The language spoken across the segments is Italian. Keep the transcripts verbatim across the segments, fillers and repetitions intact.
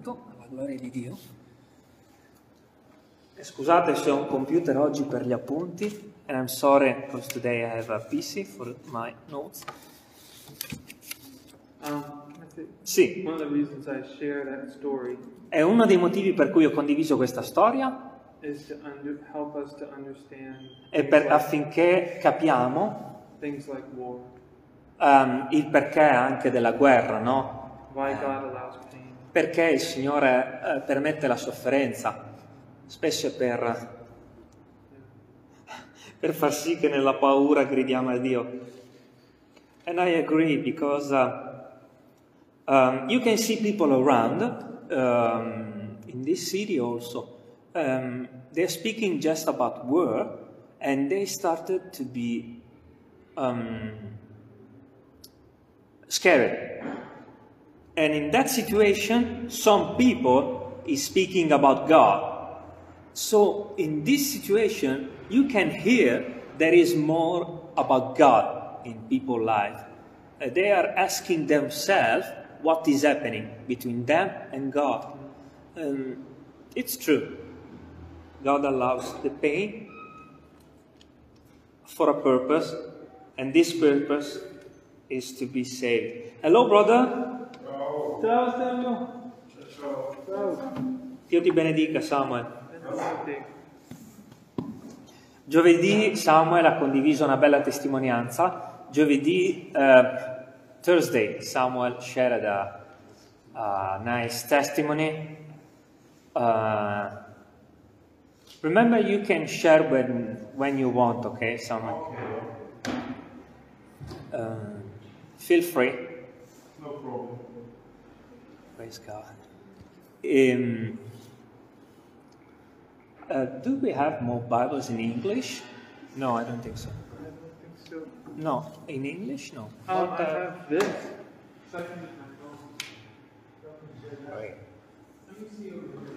tutto, alla gloria di Dio. E scusate se ho un computer oggi per gli appunti, and I'm sorry because today I have a P C for my notes. Um, Sì, one of the reasons I share that story è uno dei motivi per cui ho condiviso questa storia, is to under, help us to understand è things, per, like, affinché capiamo things like war, um, il perché anche della guerra, no? why God allows pain. Perché il Signore eh, permette la sofferenza, spesso per, per far sì che nella paura gridiamo a Dio. And I agree because uh, um, you can see people around um, in this city also. Um, they're speaking just about war, and they started to be um, scared. And in that situation, some people is speaking about God. So in this situation, you can hear there is more about God in people's life. Uh, they are asking themselves what is happening between them and God. Um, it's true. God allows the pain for a purpose, and this purpose is to be saved. Hello, brother. Ciao. Ciao Stefano. Ciao. Ciao. Dio ti benedica, Samuel. Benvenuti. Giovedì Samuel ha condiviso una bella testimonianza. Giovedì, uh, Thursday, Samuel shared a, a nice testimony. Uh, remember, you can share when, when you want, okay, Samuel? Uh, feel free. No problem. Praise God. Um, uh, do we have more Bibles in English? No, I don't think so. I don't think so. No, in English, no. Um, But, I uh, have this. Second is my phone. right. Let me see over here.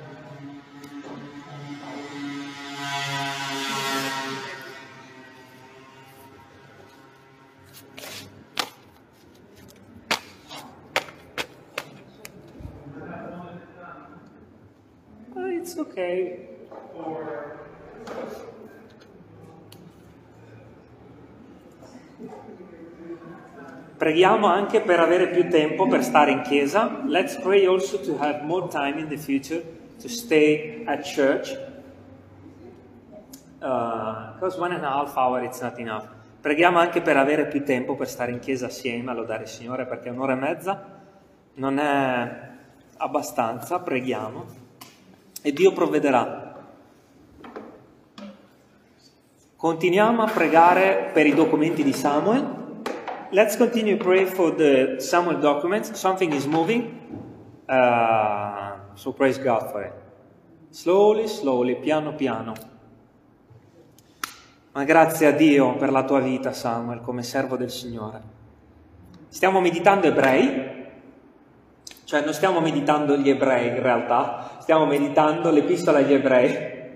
Uh, it's okay. Preghiamo anche per avere più tempo per stare in chiesa. Let's pray also to have more time in the future to stay at church. Uh, because one and a half hour it's not enough. Preghiamo anche per avere più tempo per stare in chiesa assieme, a lodare il Signore, perché un'ora e mezza non è abbastanza. Preghiamo e Dio provvederà. Continuiamo a pregare per i documenti di Samuel. Let's continue to pray for the Samuel documents. Something is moving, uh, so praise God for it. Slowly, slowly, piano piano. Ma grazie a Dio per la tua vita, Samuel, come servo del Signore. Stiamo meditando Ebrei, cioè non stiamo meditando gli Ebrei in realtà, stiamo meditando l'Epistola agli Ebrei.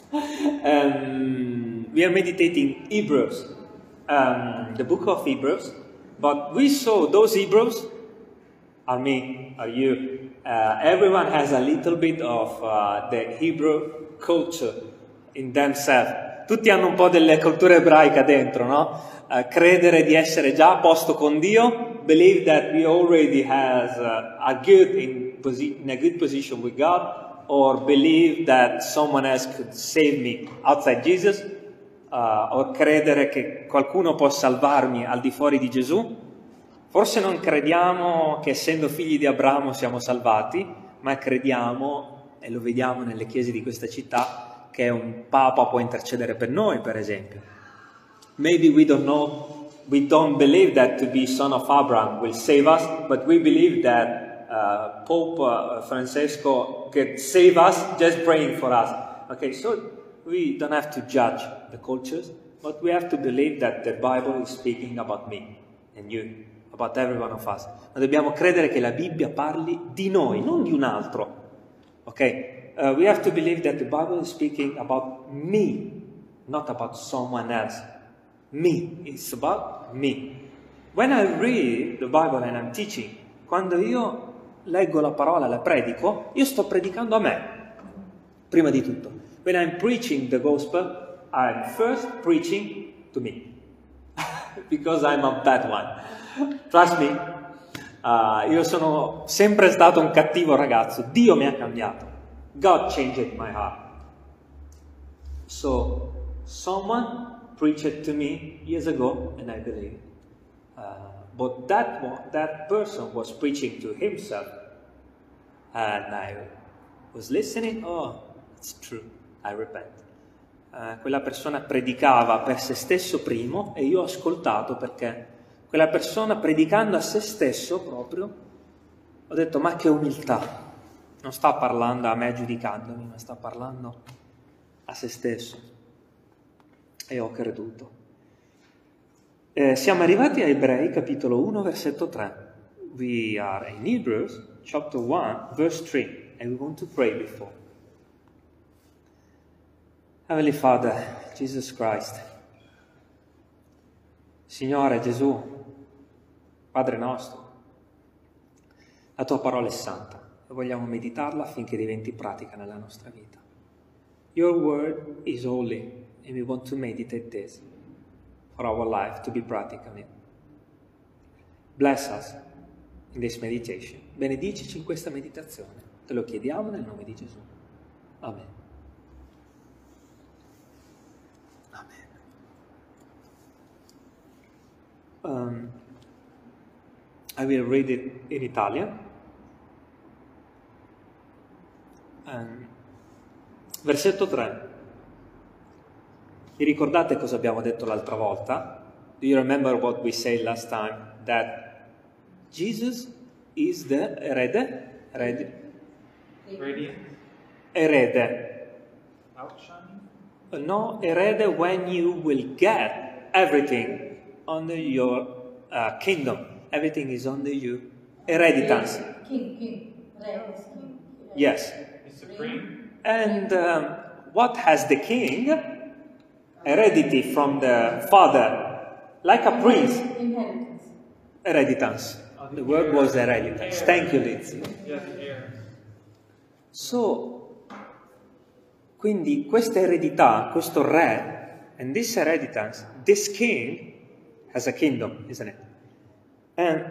um, we are meditating Hebrews, um, the book of Hebrews. But we saw those Hebrews are me, are you. Uh, everyone has a little bit of uh, the Hebrew culture in themselves. Tutti hanno un po' delle culture ebraica dentro, no? Uh, credere di essere già a posto con Dio, believe that we already has uh, are good in, posi- in a good position with God, or believe that someone else could save me outside Jesus. Uh, o credere che qualcuno può salvarmi al di fuori di Gesù. Forse non crediamo che essendo figli di Abramo siamo salvati, ma crediamo, e lo vediamo nelle chiese di questa città, che un papa può intercedere per noi, per esempio. Maybe we don't know, we don't believe that to be son of Abraham will save us, but we believe that uh, Pope uh, Francesco could save us just praying for us. Okay, so we don't have to judge the cultures, but we have to believe that the Bible is speaking about me and you, about every one of us. Ma dobbiamo credere che la Bibbia parli di noi, non di un altro. Ok? Uh, we have to believe that the Bible is speaking about me, not about someone else. Me. It's about me. When I read the Bible and I'm teaching, quando io leggo la parola, la predico, io sto predicando a me, prima di tutto. When I'm preaching the gospel, I'm first preaching to me. Because I'm a bad one. Trust me, uh, io sono sempre stato un cattivo ragazzo. Dio mi ha cambiato. God changed my heart. So, someone preached to me years ago, and I believe. Uh, but that one, that person was preaching to himself, and I was listening. Oh, it's true. I repent. Uh, quella persona predicava per se stesso primo e io ho ascoltato, perché quella persona predicando a se stesso proprio, ho detto: ma che umiltà, non sta parlando a me giudicandomi, ma sta parlando a se stesso, e ho creduto. Eh, siamo arrivati a Ebrei capitolo uno versetto tre. We are in Hebrews chapter one verse three, and we want to pray before. Heavenly Father, Jesus Christ, Signore Gesù, Padre nostro, la tua parola è santa e vogliamo meditarla affinché diventi pratica nella nostra vita. Your word is holy and we want to meditate this for our life, to be practical in it. Bless us in this meditation. Benedicici in questa meditazione. Te lo chiediamo nel nome di Gesù. Amen. Um, I will read it in Italian. Um, versetto tre. Vi ricordate cosa abbiamo detto l'altra volta? Do you remember what we said last time? That Jesus is the erede? Erede? Radiant. Erede. Outshining. No, erede when you will get everything under your uh, kingdom. Everything is under you. Hereditance. King, king. Re is king. Yes. Is supreme. And um, what has the king? Heredity from the father. Like a prince. Inheritance. Hereditance. The word was hereditance. Thank you, Lindsay. Yes, heirs. So, quindi questa eredità, questo re, and this inheritance, this king has a kingdom, isn't it? And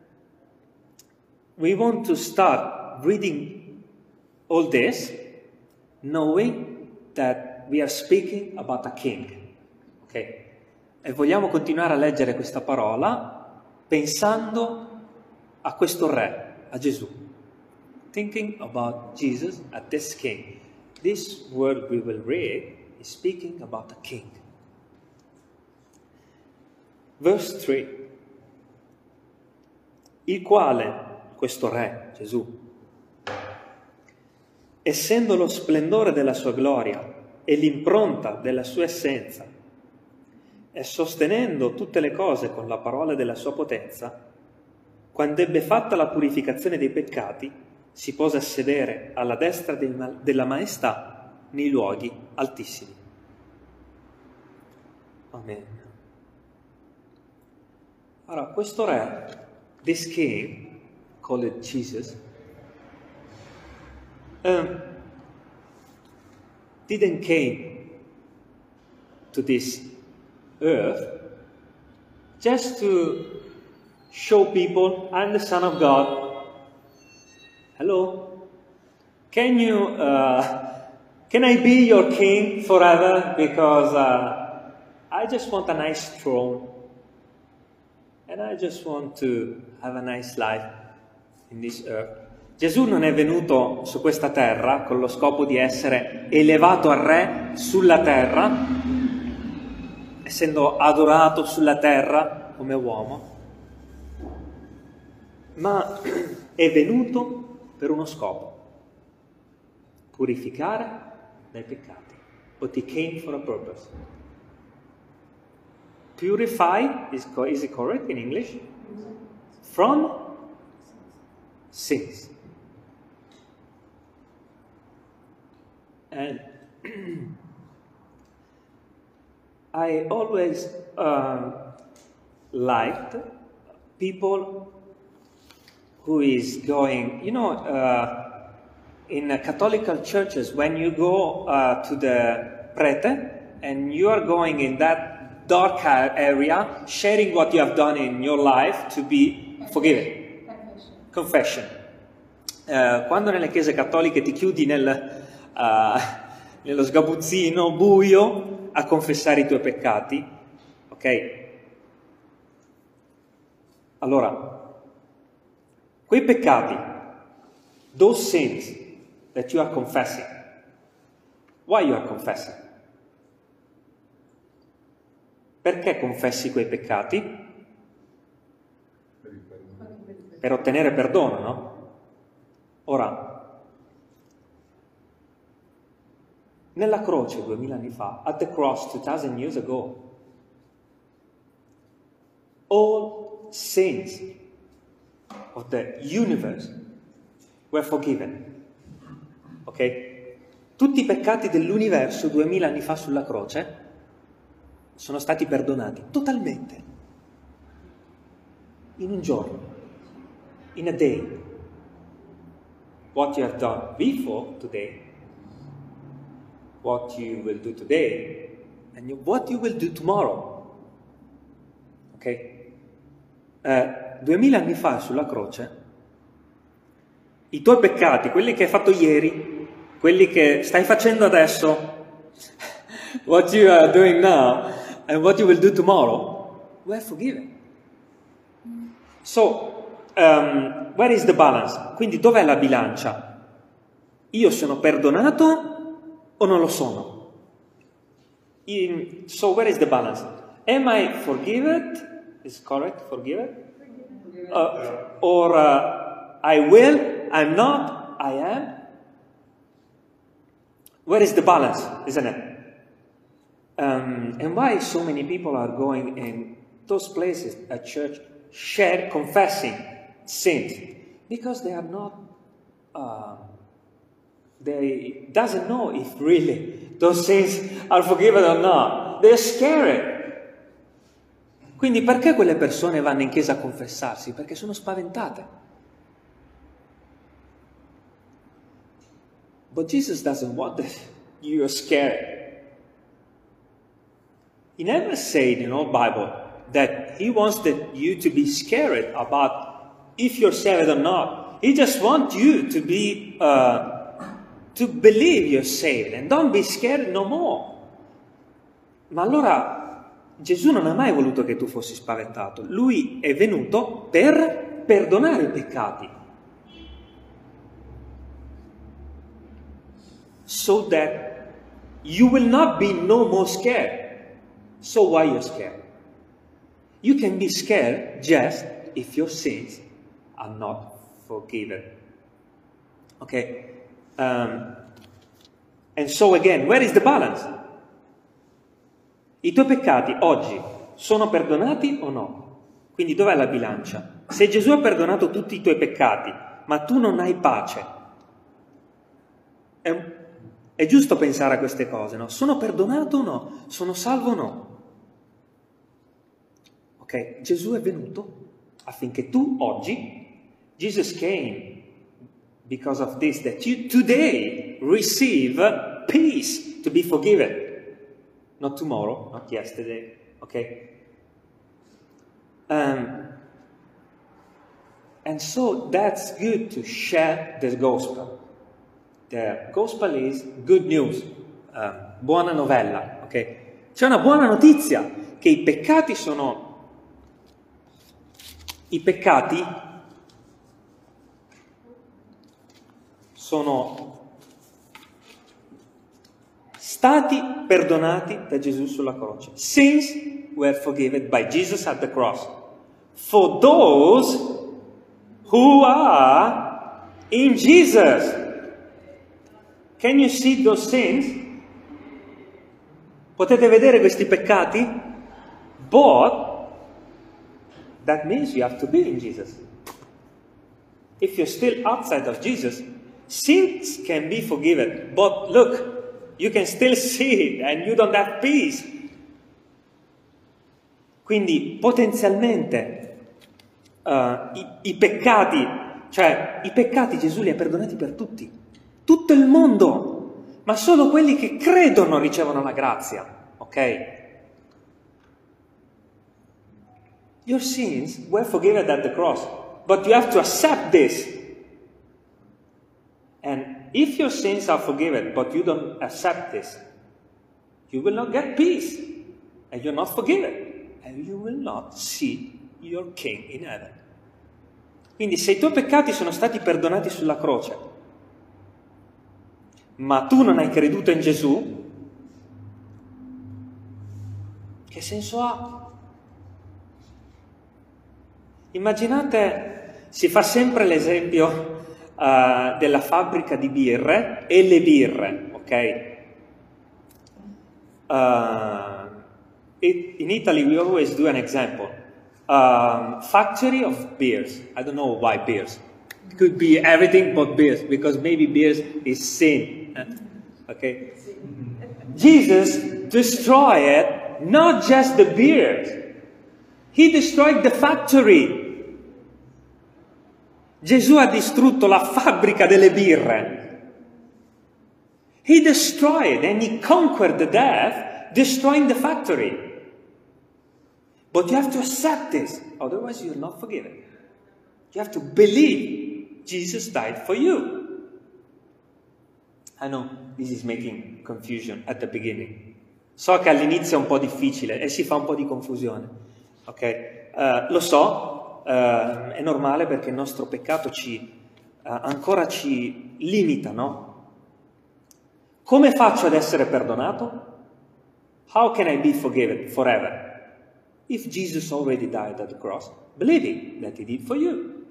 we want to start reading all this, knowing that we are speaking about a king. Ok? E vogliamo continuare a leggere questa parola pensando a questo re, a Gesù. Thinking about Jesus as this king. This word we will read is speaking about a king. Verse tre. Il quale, questo re, Gesù, essendo lo splendore della sua gloria e l'impronta della sua essenza, e sostenendo tutte le cose con la parola della sua potenza, quando ebbe fatta la purificazione dei peccati, si pose a sedere alla destra della maestà nei luoghi altissimi. Amen. Allora, questo re, this king, called Jesus, um, didn't came to this earth just to show people, I'm the Son of God. Hello? Can you, uh, can I be your king forever? Because uh, I just want a nice throne. And I just want to have a nice life in this earth. Gesù non è venuto su questa terra con lo scopo di essere elevato a re sulla terra, essendo adorato sulla terra come uomo, ma è venuto per uno scopo: purificare dai peccati. But he came for a purpose. Purify, is, is it correct in English? From sins. And I always uh, liked people who is going, you know, uh, in uh, Catholic churches, when you go uh, to the prete and you are going in that dark area, sharing what you have done in your life to be forgiven. Confession. Uh, quando nelle chiese cattoliche ti chiudi nel, uh, nello sgabuzzino buio a confessare i tuoi peccati, ok? Allora, quei peccati, those sins that you are confessing, why you are confessing? Perché confessi quei peccati? Per ottenere perdono, no? Ora, nella croce duemila anni fa, at the cross two thousand years ago, all sins of the universe were forgiven. Ok? Tutti i peccati dell'universo duemila anni fa sulla croce sono stati perdonati totalmente. In un giorno. In a day. What you have done before today, what you will do today, and you, what you will do tomorrow. Ok? Eh, duemila anni fa sulla croce, i tuoi peccati, quelli che hai fatto ieri, quelli che stai facendo adesso, what you are doing now, and what you will do tomorrow, were forgiven. So, um, where is the balance? Quindi dov'è la bilancia? Io sono perdonato o non lo sono? In, so where is the balance? Am I forgiven? Is correct, forgiven? Uh, or uh, I will, I'm not, I am? Where is the balance, isn't it? Um, and why so many people are going in those places at church, share, confessing sins? Because they are not, uh, they doesn't know if really those sins are forgiven or not. They're scared. Quindi perché quelle persone vanno in chiesa a confessarsi? Perché sono spaventate. But Jesus doesn't want that you are scared. He never said in the Bible that he wants that you to be scared about if you're saved or not. He just wants you to be, uh, to believe you're saved and don't be scared no more. Ma allora Gesù non ha mai voluto che tu fossi spaventato. Lui è venuto per perdonare i peccati. So that you will not be no more scared. So why you're scared? You can be scared just if your sins are not forgiven. Okay? Um, and so again, where is the balance? I tuoi peccati oggi sono perdonati o no? Quindi dov'è la bilancia? Se Gesù ha perdonato tutti i tuoi peccati, ma tu non hai pace, è, è giusto pensare a queste cose, no? Sono perdonato o no? Sono salvo o no? Ok? Gesù è venuto affinché tu oggi, Jesus came because of this, that you today receive peace to be forgiven. Not tomorrow, not yesterday, okay? Um, and so that's good to share the gospel. The gospel is good news, um, buona novella, ok? C'è una buona notizia, che i peccati sono, i peccati sono stati perdonati da Gesù sulla croce. Sins were forgiven by Jesus at the cross. For those who are in Jesus. Can you see those sins? Potete vedere questi peccati? But that means you have to be in Jesus. If you're still outside of Jesus, sins can be forgiven. But look, you can still see it and you don't have peace. Quindi potenzialmente uh, i, i peccati Cioè, i peccati Gesù li ha perdonati per tutti, tutto il mondo, ma solo quelli che credono ricevono la grazia, ok? Your sins were forgiven at the cross, but you have to accept this. And if your sins are forgiven, but you don't accept this, you will not get peace, and you're not forgiven, and you will not see your King in heaven. Quindi se i tuoi peccati sono stati perdonati sulla croce, ma tu non hai creduto in Gesù, che senso ha? Immaginate, si fa sempre l'esempio uh, della fabbrica di birre e le birre, ok? Uh, it, in Italy we always do an example. Um, factory of beers. I don't know why beers. It could be everything but beers, because maybe beers is sin. Okay? Jesus destroyed not just the beers. He destroyed the factory. Gesù ha distrutto la fabbrica delle birre. He destroyed and he conquered the death, destroying the factory. But you have to accept this, otherwise you're not forgiven. You have to believe Jesus died for you. I know this is making confusion at the beginning. So che all'inizio è un po' difficile e si fa un po' di confusione. Ok? Uh, lo so, uh, è normale perché il nostro peccato ci, uh, ancora ci limita, no? Come faccio ad essere perdonato? How can I be forgiven forever? If Jesus already died at the cross, believing that he did for you.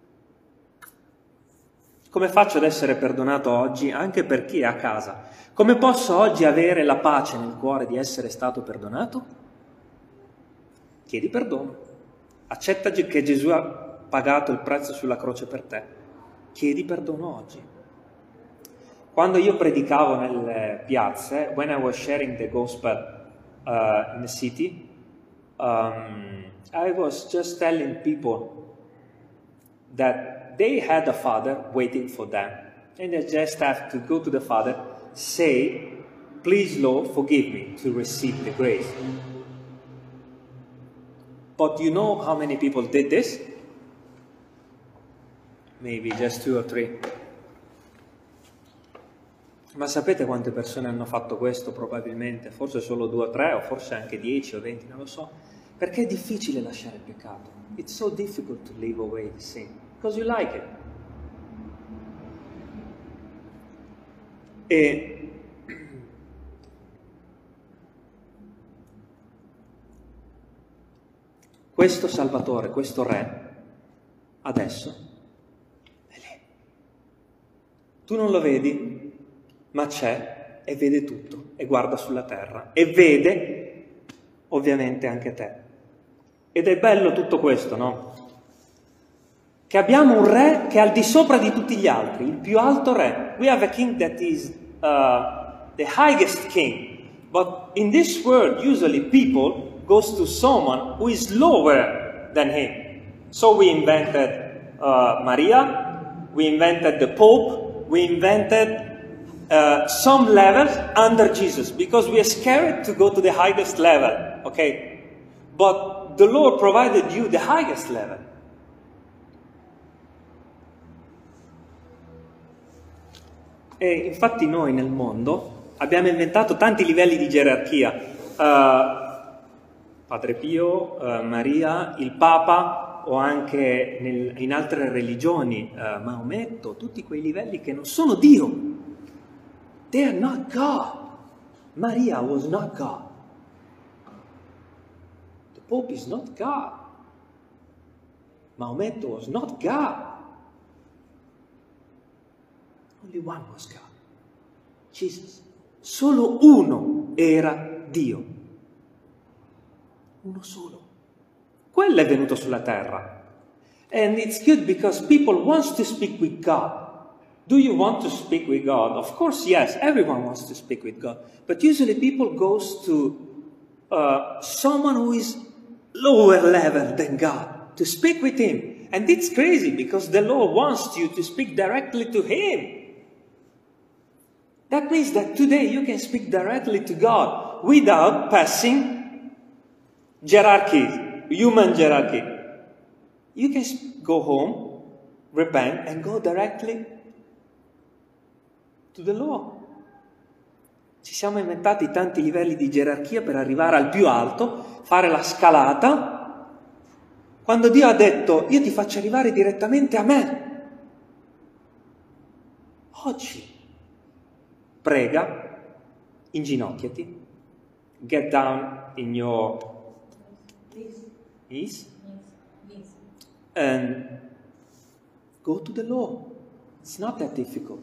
Come faccio ad essere perdonato oggi anche per chi è a casa? Come posso oggi avere la pace nel cuore di essere stato perdonato? Chiedi perdono. Accetta che Gesù ha pagato il prezzo sulla croce per te. Chiedi perdono oggi. Quando io predicavo nelle piazze, when I was sharing the gospel uh, in the city, Um, I was just telling people that they had a father waiting for them. And they just have to go to the father, say, please Lord, forgive me, to receive the grace. But you know how many people did this? Maybe just two or three. Ma sapete quante persone hanno fatto questo probabilmente? Forse solo due o tre, o forse anche dieci o venti, non lo so. Perché è difficile lasciare il peccato. It's so difficult to leave away the sin. Because you like it. E questo Salvatore, questo Re, adesso è lì. Tu non lo vedi, ma c'è e vede tutto e guarda sulla terra e vede ovviamente anche te. Ed è bello tutto questo, no? Che abbiamo un re che è al di sopra di tutti gli altri, il più alto re. We have a king that is uh, the highest king. But in this world, usually people goes to someone who is lower than him. So we invented uh, Maria, we invented the Pope, we invented Uh, some levels under Jesus, because we are scared to go to the highest level, okay? But the Lord provided you the highest level. E infatti noi nel mondo abbiamo inventato tanti livelli di gerarchia. Uh, Padre Pio, uh, Maria, il Papa, o anche nel, in altre religioni, uh, Maometto, tutti quei livelli che non sono Dio. They are not God. Maria was not God. The Pope is not God. Maometto was not God. Only one was God. Jesus. Solo uno era Dio. Uno solo. Quello è venuto sulla terra. And it's good because people want to speak with God. Do you want to speak with God? Of course, yes. Everyone wants to speak with God. But usually people goes to uh, someone who is lower level than God to speak with Him. And it's crazy because the law wants you to speak directly to Him. That means that today you can speak directly to God without passing hierarchy, human hierarchy. You can go home, repent, and go directly to the law. Ci siamo inventati tanti livelli di gerarchia per arrivare al più alto, fare la scalata, quando Dio ha detto io ti faccio arrivare direttamente a me. Oggi prega, inginocchiati, get down in your knees and go to the law. It's not that difficult.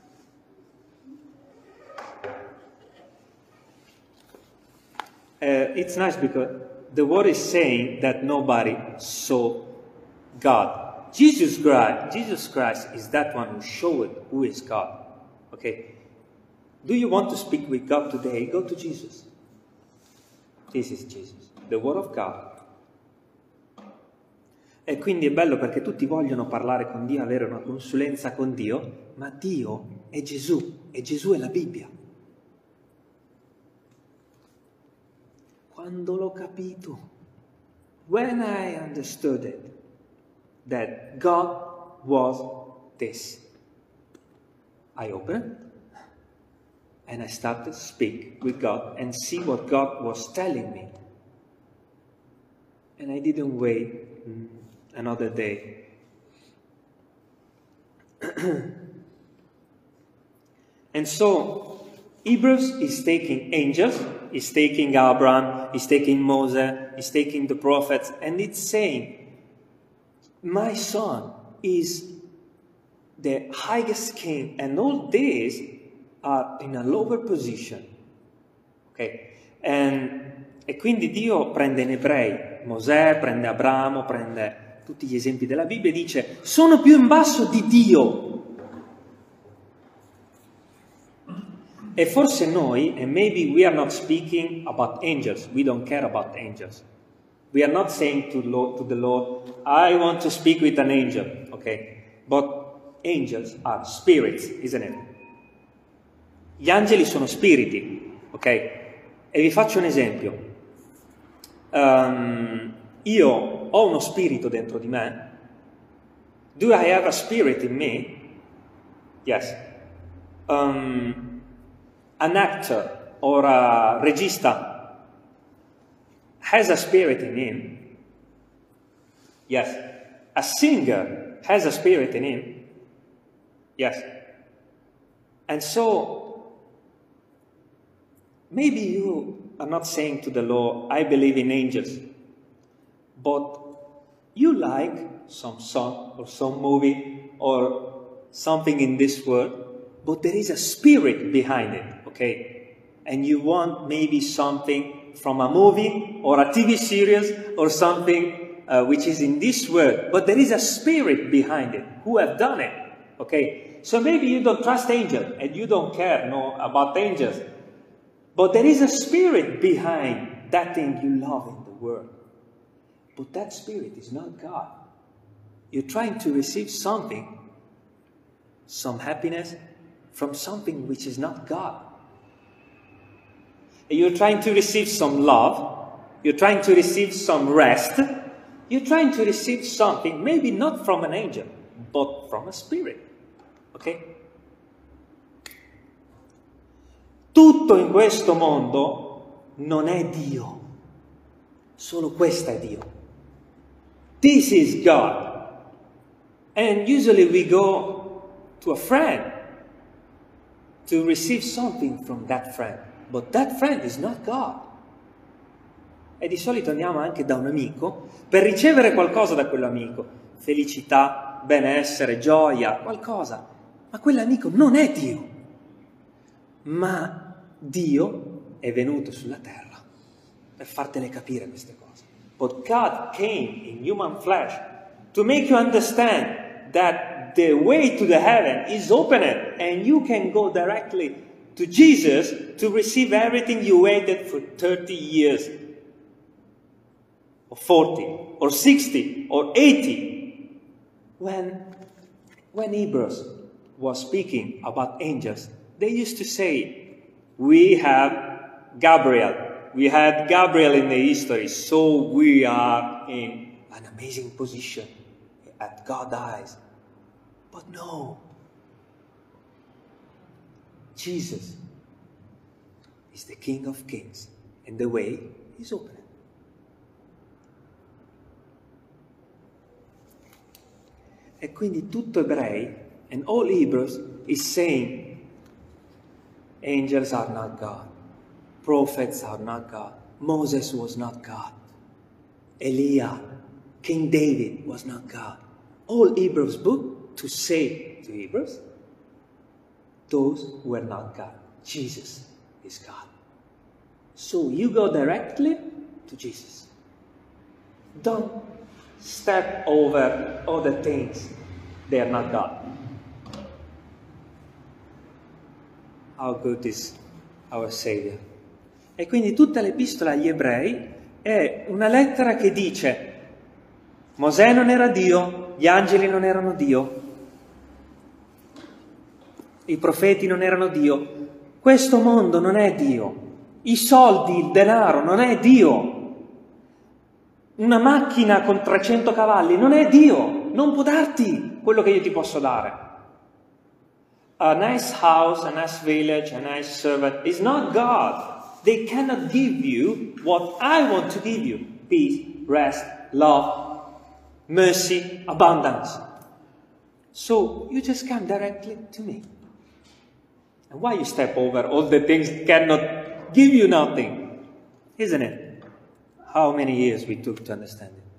Uh, it's nice because the word is saying that nobody saw God. Jesus Christ, Jesus Christ is that one who showed who is God. Okay? Do you want to speak with God today? Go to Jesus. This is Jesus, the Word of God. E quindi è bello perché tutti vogliono parlare con Dio, avere una consulenza con Dio, ma Dio è Gesù, e Gesù è la Bibbia. Quando l'ho capito, when I understood it, that God was this, I opened it, and I started to speak with God and see what God was telling me. And I didn't wait another day. And so, Hebrews is taking angels, is taking Abraham, is taking Moses, is taking the prophets, and it's saying, my son is the highest king, and all these are in a lower position. Ok? And, e quindi Dio prende in ebrei Mosè, prende Abramo, prende tutti gli esempi della Bibbia e dice sono più in basso di Dio. E forse noi, and maybe we are not speaking about angels, we don't care about angels. We are not saying to, Lord, to the Lord, I want to speak with an angel, okay? But angels are spirits, isn't it? Gli angeli sono spiriti, ok? E vi faccio un esempio. Um, io ho uno spirito dentro di me. Do I have a spirit in me? Yes. Um, an actor or a regista has a spirit in him. Yes. A singer has a spirit in him. Yes. And so, maybe you are not saying to the Lord, I believe in angels, but you like some song or some movie or something in this world, but there is a spirit behind it, okay? And you want maybe something from a movie or a T V series or something uh, which is in this world, but there is a spirit behind it who have done it, okay? So maybe you don't trust angels and you don't care no, about angels. But there is a spirit behind that thing you love in the world. But that spirit is not God. You're trying to receive something, some happiness, from something which is not God. And you're trying to receive some love. You're trying to receive some rest. You're trying to receive something, maybe not from an angel, but from a spirit. Okay? Tutto in questo mondo non è Dio, solo questo è Dio. This is God. And usually we go to a friend to receive something from that friend, but that friend is not God. E di solito andiamo anche da un amico per ricevere qualcosa da quell'amico, felicità, benessere, gioia, qualcosa, ma quell'amico non è Dio. Ma Dio è venuto sulla terra per fartele capire queste cose. But God came in human flesh to make you understand that the way to the heaven is open and you can go directly to Jesus to receive everything you waited for thirty years, or forty, or sixty, or eighty. when, when Hebrews was speaking about angels, they used to say, we have Gabriel. We had Gabriel in the history, so we are in an amazing position at God's eyes. But no. Jesus is the King of Kings, and the way is open. E quindi tutto Ebrei, and all Hebrews, is saying, angels are not God, prophets are not God, Moses was not God, Elijah, King David was not God. All Hebrews book to say to Hebrews, those were not God. Jesus is God. So you go directly to Jesus. Don't step over other things. They are not God. How good is our Savior. E quindi tutta l'epistola agli ebrei è una lettera che dice Mosè non era Dio, gli angeli non erano Dio, i profeti non erano Dio, questo mondo non è Dio, i soldi, il denaro non è Dio, una macchina con trecento cavalli non è Dio, non può darti quello che io ti posso dare. A nice house, a nice village, a nice servant is not God. They cannot give you what I want to give you. Peace, rest, love, mercy, abundance. So you just come directly to me. And why you step over all the things that cannot give you nothing? Isn't it? How many years we took to understand it?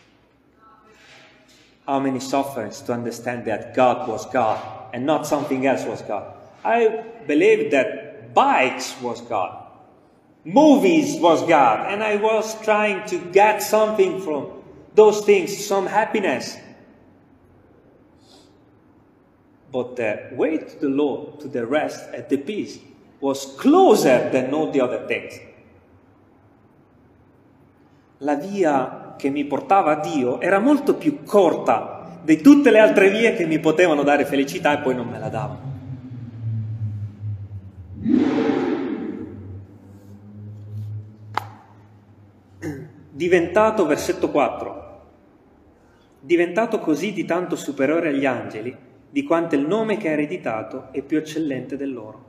How many sufferings to understand that God was God and not something else was God? I believe that bikes was God. Movies was God. And I was trying to get something from those things, some happiness. But the way to the Lord, to the rest and the peace, was closer than all the other things. La via che mi portava a Dio era molto più corta di tutte le altre vie che mi potevano dare felicità e poi non me la davano. Diventato, versetto quattro, diventato così di tanto superiore agli angeli, di quanto il nome che ha ereditato è più eccellente del loro.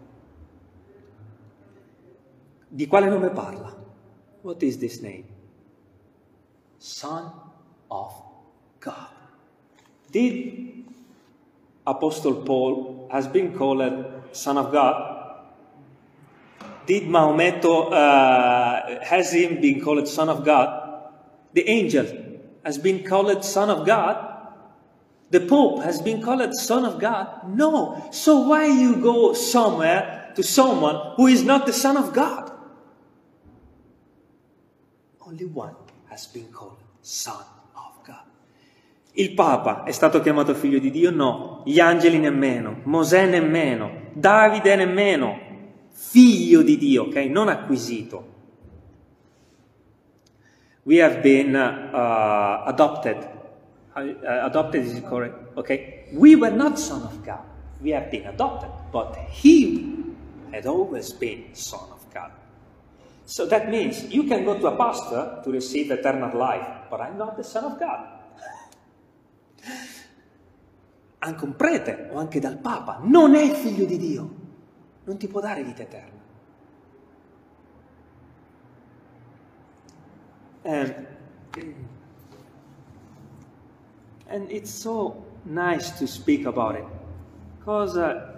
Di quale nome parla? What is this name? Son of God. Did Apostle Paul has been called Son of God? Did Maometto, uh, has him been called Son of God? The angel has been called Son of God? The Pope has been called Son of God? No. So why you go somewhere to someone who is not the Son of God? Only one has been called Son of God. Il Papa è stato chiamato figlio di Dio? No. Gli angeli nemmeno. Mosè nemmeno. Davide nemmeno. Figlio di Dio, ok? Non acquisito. We have been uh, adopted. Uh, adopted is correct, okay? We were not son of God. We have been adopted, but He had always been Son of God. So that means you can go to a pastor to receive eternal life, but I'm not the Son of God. Anche un prete o anche dal Papa non è figlio di Dio, non ti può dare vita eterna. And, and it's so nice to speak about it, because uh,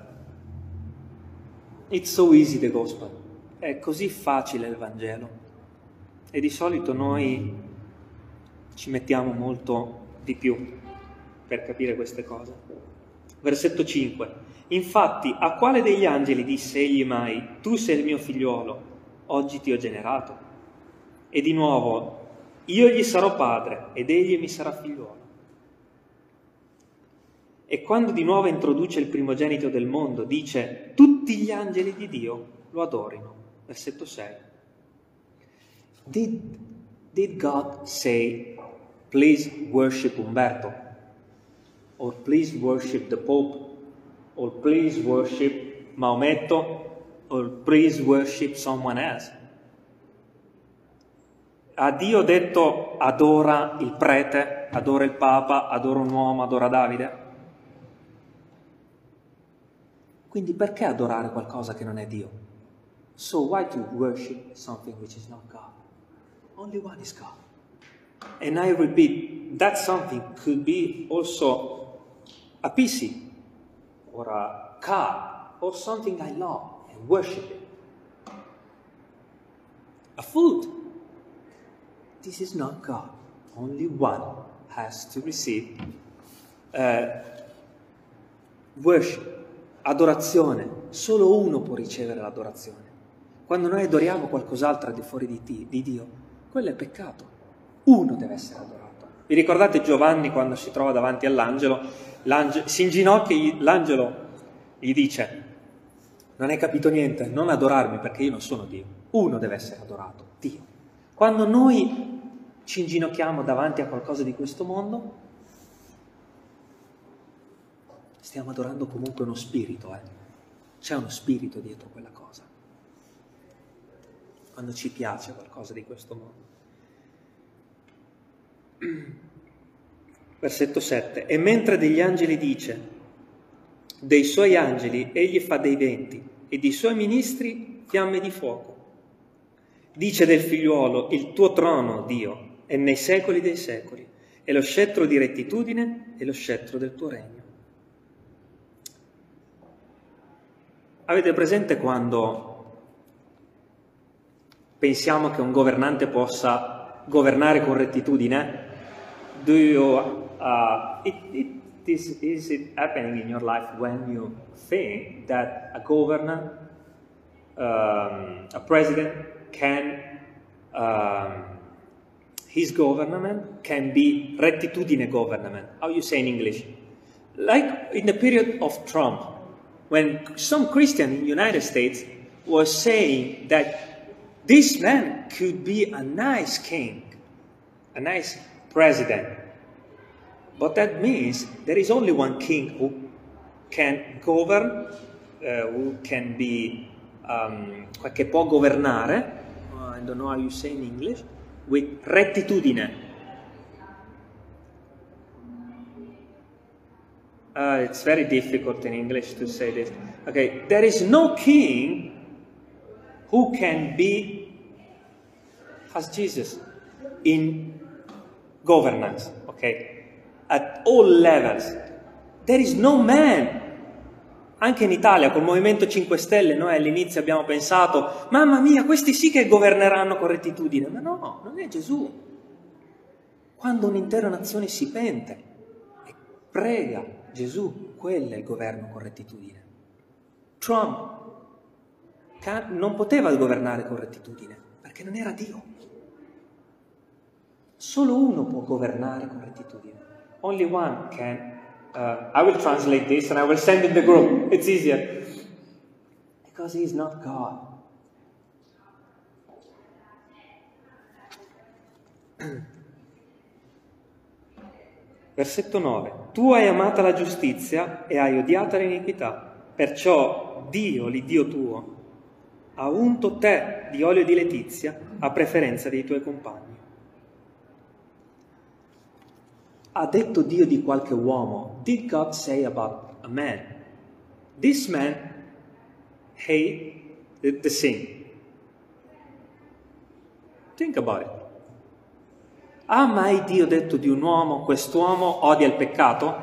it's so easy the gospel. È così facile il Vangelo e di solito noi ci mettiamo molto di più per capire queste cose. Versetto cinque. Infatti, a quale degli angeli disse egli mai: tu sei il mio figliuolo, oggi ti ho generato? E di nuovo, io gli sarò padre ed egli mi sarà figliuolo. E quando di nuovo introduce il primogenito del mondo, dice: tutti gli angeli di Dio lo adorino. Versetto sei. Did, did God say, please worship Umberto? or please worship the Pope, or please worship Maometto, or please worship someone else. Ha Dio detto adora il prete, adora il Papa, adora un uomo, adora Davide? Quindi perché adorare qualcosa che non è Dio? So why to worship something which is not God? Only one is God. And I repeat, that something could be also a P C, or a car, or something I love and worship it. A food. This is not God. Only one has to receive uh, worship, adorazione. Solo uno può ricevere l'adorazione. Quando noi adoriamo qualcos'altro al di fuori di, ti, di Dio, quello è peccato. Uno deve essere adorato. Vi ricordate Giovanni quando si trova davanti all'angelo? Si inginocchia e l'angelo gli dice: non hai capito niente, non adorarmi perché io non sono Dio. Uno deve essere adorato, Dio. Quando noi ci inginocchiamo davanti a qualcosa di questo mondo, stiamo adorando comunque uno spirito, eh? C'è uno spirito dietro quella cosa. Quando ci piace qualcosa di questo mondo. Versetto sette. E mentre degli angeli dice, dei suoi angeli egli fa dei venti, e dei suoi ministri fiamme di fuoco. Dice del figliuolo, il tuo trono, Dio, è nei secoli dei secoli, e lo scettro di rettitudine è lo scettro del tuo regno. Avete presente quando pensiamo che un governante possa governare con rettitudine? Do you, uh, it, it, is, is it happening in your life when you think that a governor, um, a president can, um, his government can be rettitudine government? How you say in English? Like in the period of Trump, when some Christian in the United States was saying that this man could be a nice king, a nice president. But that means there is only one king who can govern, uh, who can be, um, che può governare, uh, I don't know how you say in English, with rettitudine. Uh, it's very difficult in English to say this. Okay, there is no king who can be as Jesus in governance, okay, at all levels. There is no man. Anche in Italia, col Movimento cinque Stelle, noi all'inizio abbiamo pensato, mamma mia, questi sì che governeranno con rettitudine. Ma no, non è Gesù. Quando un'intera nazione si pente e prega Gesù, quello è il governo con rettitudine. Trump non poteva governare con rettitudine, perché non era Dio. Solo uno può governare con rettitudine. Only one can. Uh, I will translate this and I will send in the group. It's easier. Because he is not God. Versetto nove. Tu hai amata la giustizia e hai odiata l'iniquità. Perciò Dio, l'Iddio tuo, ha unto te di olio di letizia a preferenza dei tuoi compagni. Ha detto Dio di qualche uomo, did God say about a man? This man hate the, the sin. Think about it. Ha mai Dio detto di un uomo, quest'uomo odia il peccato?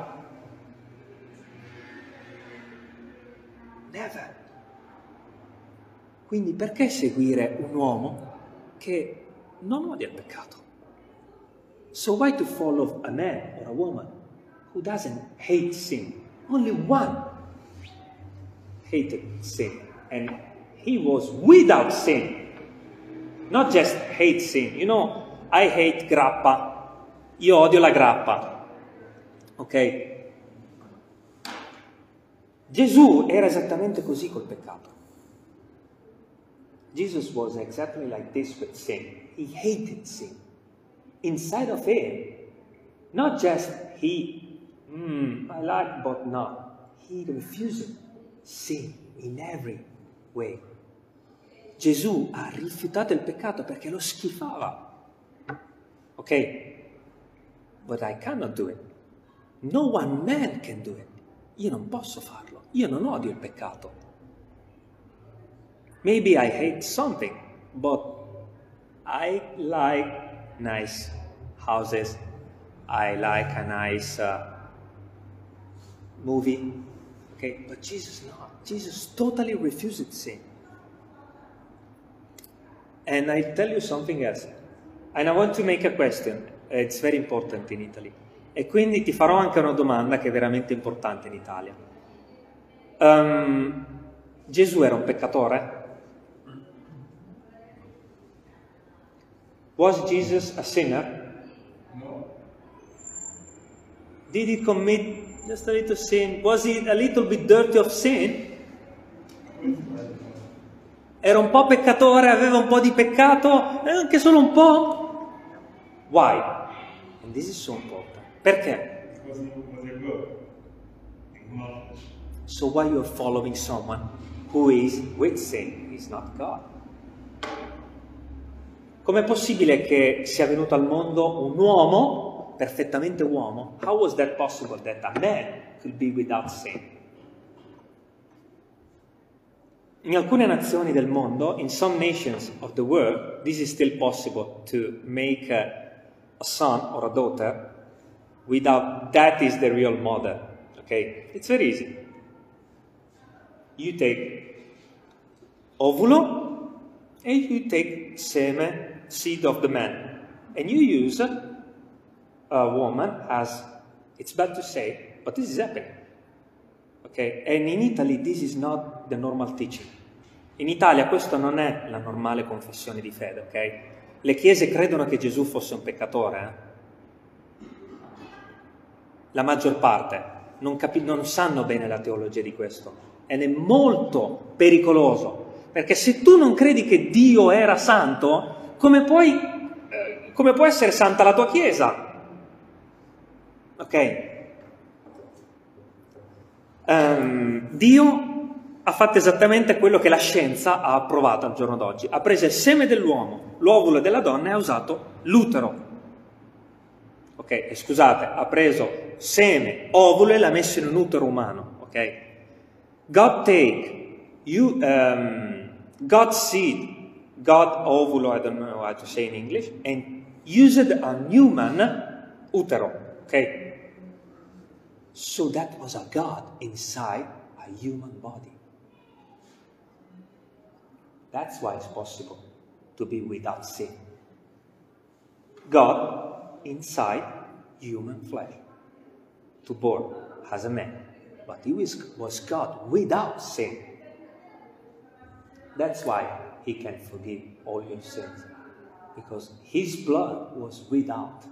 Never. Quindi perché seguire un uomo che non odia il peccato? So why to follow a man or a woman who doesn't hate sin? Only one hated sin, and he was without sin. Not just hate sin. You know, I hate grappa. Io odio la grappa. Ok? Gesù era esattamente così col peccato. Jesus was exactly like this with sin. He hated sin. Inside of him, not just he mm, I like but not. He refused sin in every way. Gesù ha rifiutato il peccato perché lo schifava. Ok? But I cannot do it. No one man can do it. Io non posso farlo. Io non odio il peccato. Maybe I hate something, but I like nice houses. I like a nice uh, movie. Okay, but Jesus not. Jesus totally refused sin. And I tell you something else. And I want to make a question. It's very important in Italy. E quindi ti farò anche una domanda che è veramente importante in Italia. Um, Gesù era un peccatore? Was Jesus a sinner? No. Did he commit just a little sin? Was he a little bit dirty of sin? Era un po' peccatore, aveva un po' di peccato, e anche solo un po'? Why? And this is so important. Perché? Because he was a God. Not. So why you are following someone who is with sin is not God? Com'è possibile che sia venuto al mondo un uomo, perfettamente uomo? How was that possible that a man could be without sin? In alcune nazioni del mondo, in some nations of the world, this is still possible to make a, a son or a daughter without that is the real mother. Okay? It's very easy. You take ovulo and you take seme, seed of the man, and you use a woman as, it's bad to say, but this is happening. Okay? And in Italy this is not the normal teaching. In Italia questo non è la normale confessione di fede, ok? Le chiese credono che Gesù fosse un peccatore, eh? La maggior parte non, capi- non sanno bene la teologia di questo, ed è molto pericoloso, perché se tu non credi che Dio era santo, come puoi, eh, come può essere santa la tua chiesa? Ok? Um, Dio ha fatto esattamente quello che la scienza ha approvato al giorno d'oggi. Ha preso il seme dell'uomo, l'ovulo della donna e ha usato l'utero. Ok, e scusate, ha preso seme, ovulo e l'ha messo in un utero umano. Ok? God take you, um, God's seed, God ovulo, I don't know how to say in English, and used a human utero. Ok? So that was a God inside a human body. That's why it's possible to be without sin. God inside human flesh, to born as a man. But he was, was God without sin. That's why he can forgive all your sins. Because his blood was without.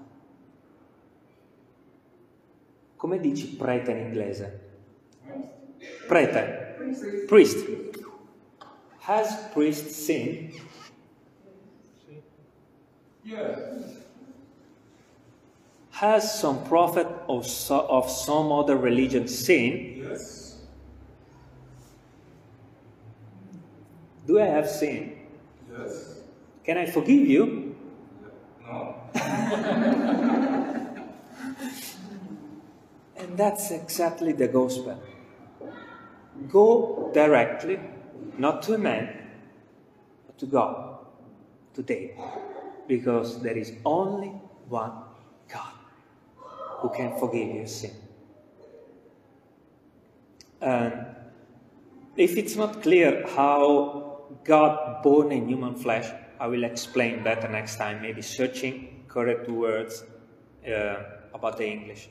Come dici prete in inglese? Prete. Priest. Has priest sinned? Yes. Has some prophet of, so, of some other religion sinned? Yes. Do I have sinned? Yes. Can I forgive you? No. And that's exactly the gospel. Go directly, not to a man, but to God, to David. Because there is only one God who can forgive your sin. And if it's not clear how God born in human flesh, I will explain better next time, maybe searching correct words uh, about the English.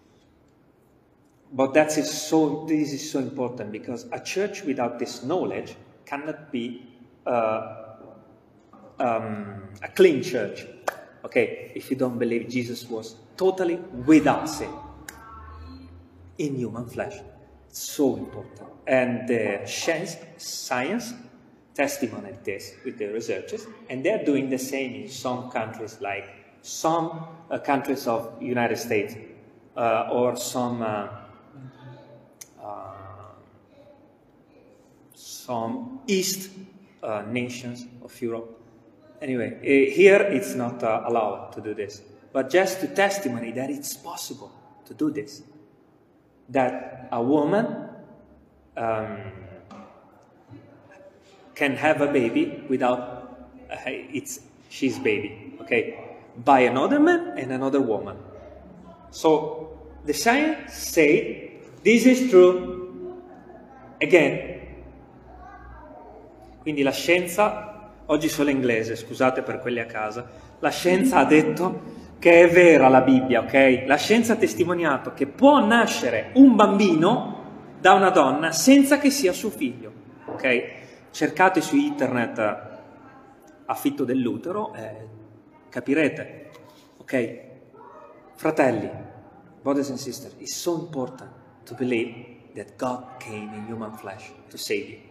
But that is so, this is so important, because a church without this knowledge cannot be uh, um, a clean church. Okay, if you don't believe Jesus was totally without sin in human flesh. It's so important. And the science, science testimony this with the researchers, and they're doing the same in some countries, like some uh, countries of United States. uh, or some uh, uh, some East uh, nations of Europe. Anyway, uh, here it's not uh, allowed to do this, but just to testimony that it's possible to do this, that a woman um, can have a baby without uh, it's she's baby, okay, by another man and another woman. So the science say this is true again. Quindi la scienza, oggi solo inglese, scusate per quelli a casa, la scienza ha detto che è vera la Bibbia, ok? La scienza ha testimoniato che può nascere un bambino da una donna senza che sia suo figlio, ok? Cercate su internet affitto dell'utero e capirete, ok? Fratelli, brothers and sisters, it's so important to believe that God came in human flesh to save you.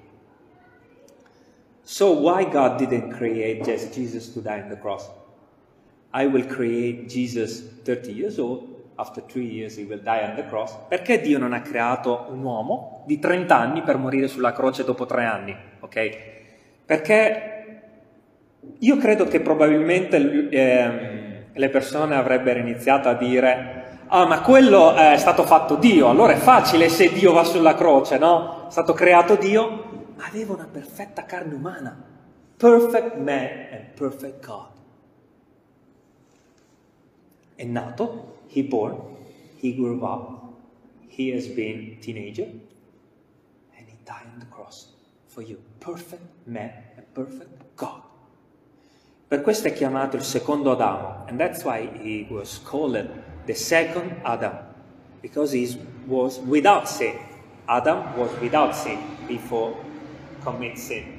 So why God didn't create just Jesus to die on the cross? I will create Jesus thirty years old, after three years he will die on the cross. Perché Dio non ha creato un uomo di trenta anni per morire sulla croce dopo tre anni? Ok? Perché io credo che probabilmente ehm, le persone avrebbero iniziato a dire: ah, ma quello è stato fatto Dio, allora è facile se Dio va sulla croce, no? È stato creato Dio. Aveva una perfetta carne umana, perfect man and perfect God. È nato, he born, he grew up, he has been teenager, and he died on the cross for you. Perfect man and perfect God. Per questo è chiamato il secondo Adamo, and that's why he was called the second Adam, because he was without sin. Adam was without sin before commit sin.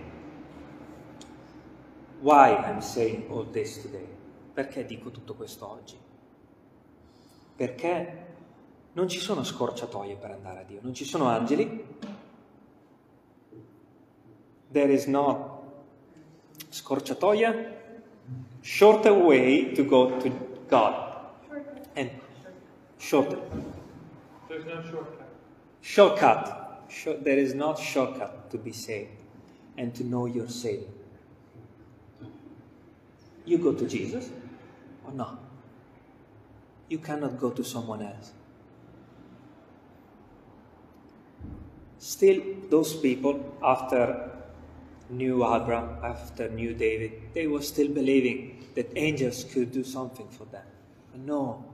Why I'm saying all this today? Perché dico tutto questo oggi? Perché non ci sono scorciatoie per andare a Dio, non ci sono angeli. There is no scorciatoia, shorter way to go to God. And shorter. There's no shortcut. Shortcut. There is not shortcut to be saved and to know your Savior. You go to Jesus or not. You cannot go to someone else. Still, those people, after knew Abraham, after knew David, they were still believing that angels could do something for them. But no.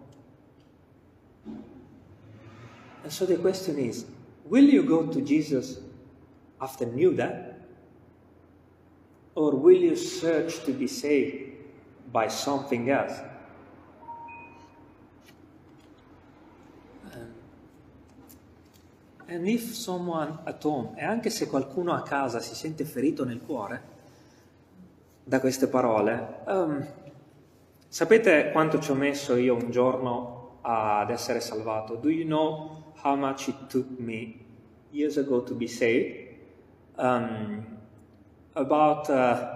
And so the question is, will you go to Jesus after knew that? Or will you search to be saved by something else? Um, and if someone at home, e anche se qualcuno a casa si sente ferito nel cuore da queste parole, um, sapete quanto ci ho messo io un giorno ad essere salvato? Do you know how much it took me years ago to be saved? Um, about uh,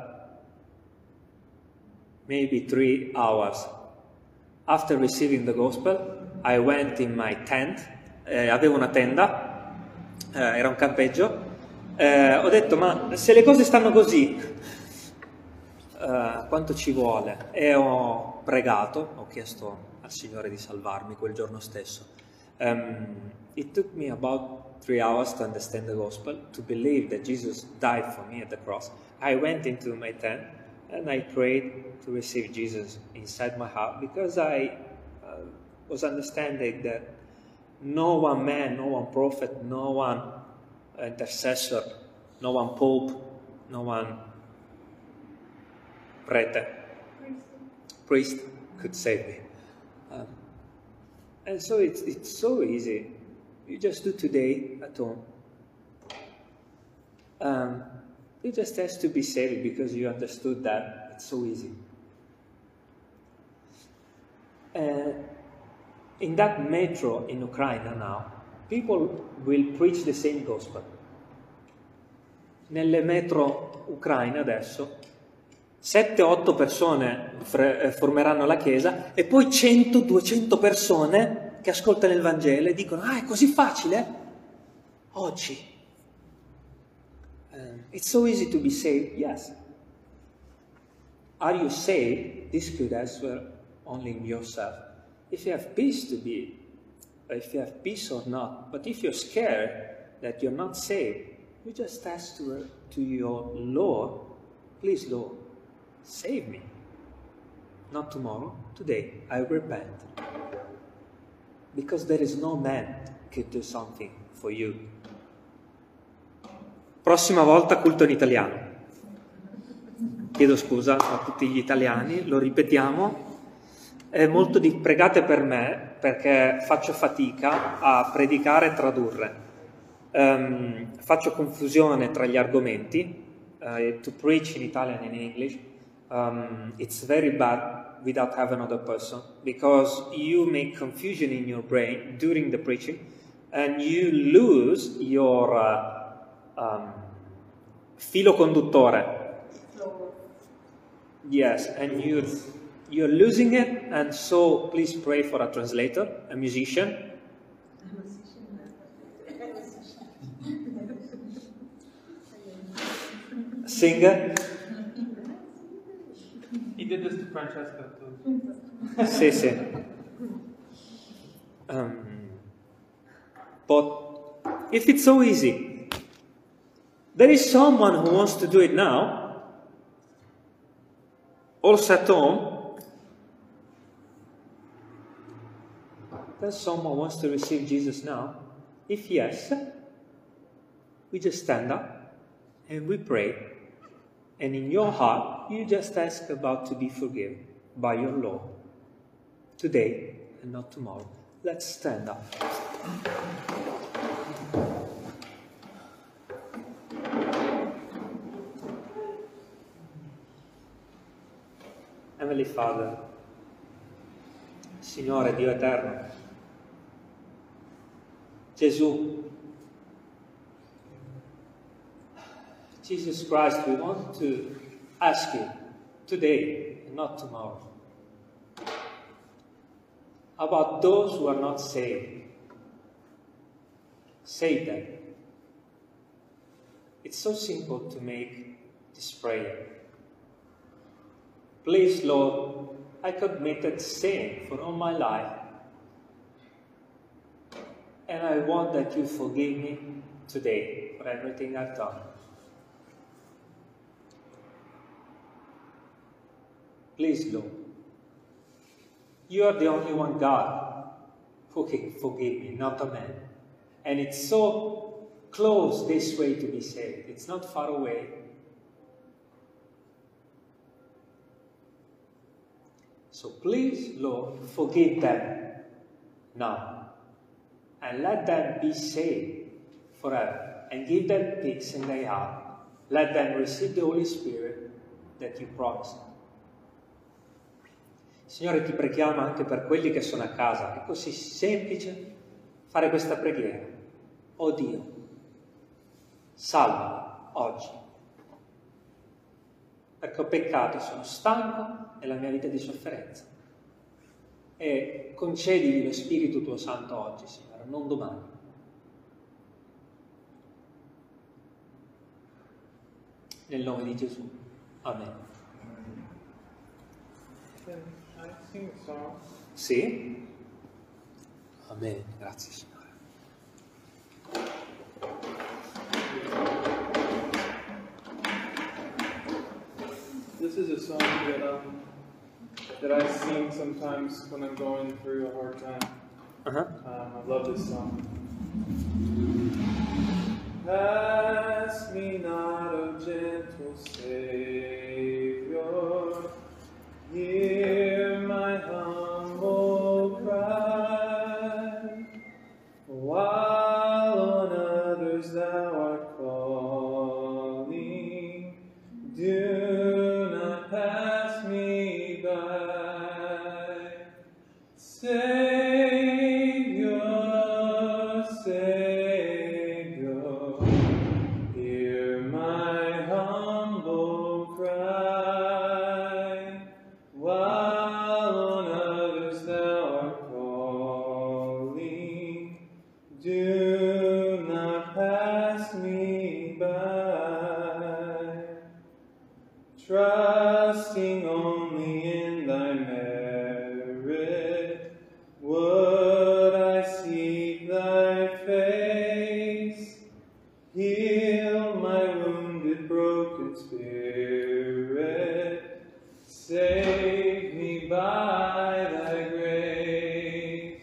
maybe three hours. After receiving the gospel, I went in my tent, eh, avevo una tenda, eh, era un campeggio, eh, ho detto: ma se le cose stanno così, eh, quanto ci vuole? E ho pregato, ho chiesto al Signore di salvarmi quel giorno stesso. Um, it took me about three hours to understand the gospel, to believe that Jesus died for me at the cross. I went into my tent and I prayed to receive Jesus inside my heart, because I uh, was understanding that no one man, no one prophet, no one intercessor, no one pope, no one prete, priest could save me. Um, And so it's, it's so easy. You just do today at home. Um, you just have to be saved because you understood that it's so easy. Uh, in that metro in Ukraine now, people will preach the same gospel. Nelle metro ucraine adesso, sette otto persone formeranno la chiesa e poi cento duecento persone che ascoltano il Vangelo e dicono, ah, è così facile? Oggi. Um, it's so easy to be saved. Yes. Are you saved? This could answer only in yourself. If you have peace to be, if you have peace or not, but if you're scared that you're not saved, you just ask to, to your Lord, please Lord, save me. Not tomorrow, today, I repent. Because there is no man could do something for you. Prossima volta culto in italiano. Chiedo scusa a tutti gli italiani, lo ripetiamo. È molto di pregate per me perché faccio fatica a predicare e tradurre. Um, faccio confusione tra gli argomenti. Uh, to preach in Italian and in English, um, it's very bad without having another person because you make confusion in your brain during the preaching and you lose your uh, um, filo conduttore. Yes, and you're, you're losing it, and so please pray for a translator, a musician. Singer. He did this to Francesca too. Sì, sì. Um, but if it's so easy, there is someone who wants to do it now. Also at home, there's someone who wants to receive Jesus now. If yes, we just stand up and we pray. And in your heart, you just ask about to be forgiven by your Lord. Today and not tomorrow. Let's stand up. Heavenly Father, Signore Dio Eterno, Gesù, Jesus Christ, we want to ask you today and not tomorrow about those who are not saved. Save them. It's so simple to make this prayer. Please, Lord, I committed sin for all my life, and I want that you forgive me today for everything I've done. Please, Lord, you are the only one God who can forgive me, not a man. And it's so close this way to be saved. It's not far away. So please, Lord, forgive them now. And let them be saved forever. And give them peace in their heart. Let them receive the Holy Spirit that you promised. Signore, ti preghiamo anche per quelli che sono a casa. È così semplice fare questa preghiera. Oh Dio, salvami oggi. Perché ho peccato, sono stanco nella mia vita di sofferenza. E concedimi lo Spirito tuo Santo oggi, Signore, non domani. Nel nome di Gesù. Amen. Can I sing a song? Sì? Amen. Grazie, Signore. This is a song that um that I sing sometimes when I'm going through a hard time. Uh-huh. Um, I love this song. Pass me not, O gentle Savior, hear my humble cry, while on others thou art calling, do not pass me by. Savior, Savior, hear broken spirit, save me by thy grace.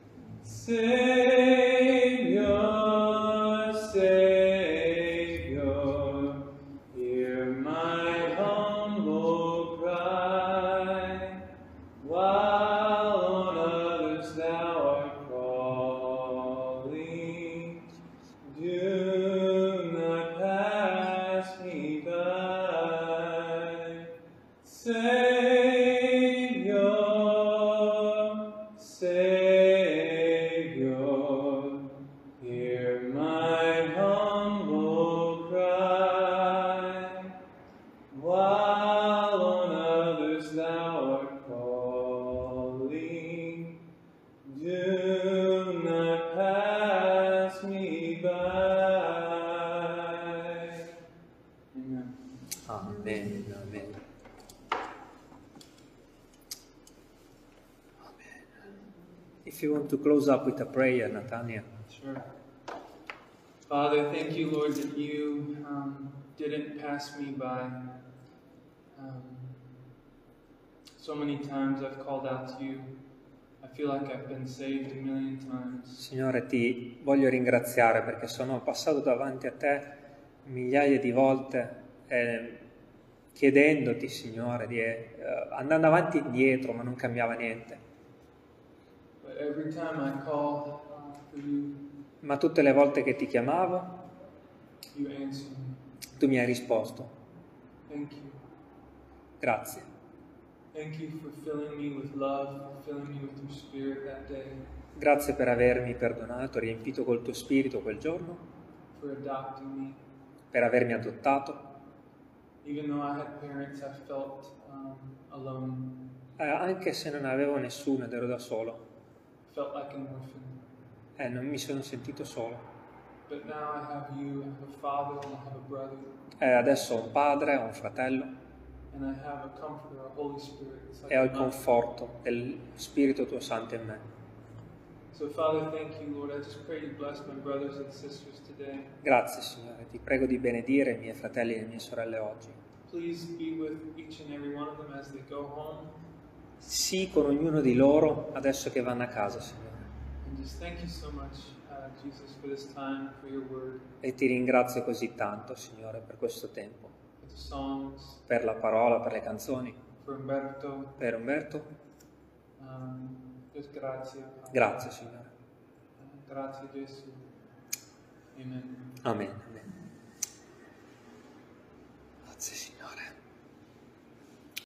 Savior, Savior, hear my humble cry, while on others thou art calling. Do not pass me by. Savior, Savior, hear my humble cry, while on others thou art calling. Do not pass me by. Amen. Amen, amen. If you want to close up with a prayer, Nathaniel. Sure. Father, thank you, Lord, that you um, didn't pass me by. Um, so many times I've called out to you. I feel like I've been saved a million times. Signore, ti voglio ringraziare perché sono passato davanti a te migliaia di volte eh, chiedendoti, Signore, di, eh, andando avanti e indietro, ma non cambiava niente. But every time I call uh, for you, Ma tutte le volte che ti chiamavo, you answer me. tu mi hai risposto. Thank you. Grazie. Thank you for filling me with love, for filling me with your spirit that day, Grazie per avermi perdonato, riempito col tuo spirito quel giorno, for adopting me. per avermi adottato. Even though I had parents, I felt um, alone. Eh, anche se non avevo nessuno ed ero da solo, I felt like an orphan. eh, non mi sono sentito solo. But now I have you, I have a father, and I have a brother, Eh, adesso ho un padre, ho un fratello and I have a comforter, a Holy Spirit. It's like e ho il a mother. conforto del Spirito tuo Santo in me. So Father, thank you, Lord. I just pray you bless my brothers and sisters today. Grazie, Signore, ti prego di benedire i miei fratelli e le mie sorelle oggi. Please be with each and every one of them as they go home. Sii con ognuno di loro adesso che vanno a casa, Signore. And just thank you so much, uh, Jesus, for this time, for your word, E ti ringrazio così tanto, Signore, per questo tempo, for the songs, per la parola, per le canzoni, for Umberto. per Umberto. Um, just grazie. Grazie, Signore. Uh, grazie, Gesù. Amen. Amen. Amen.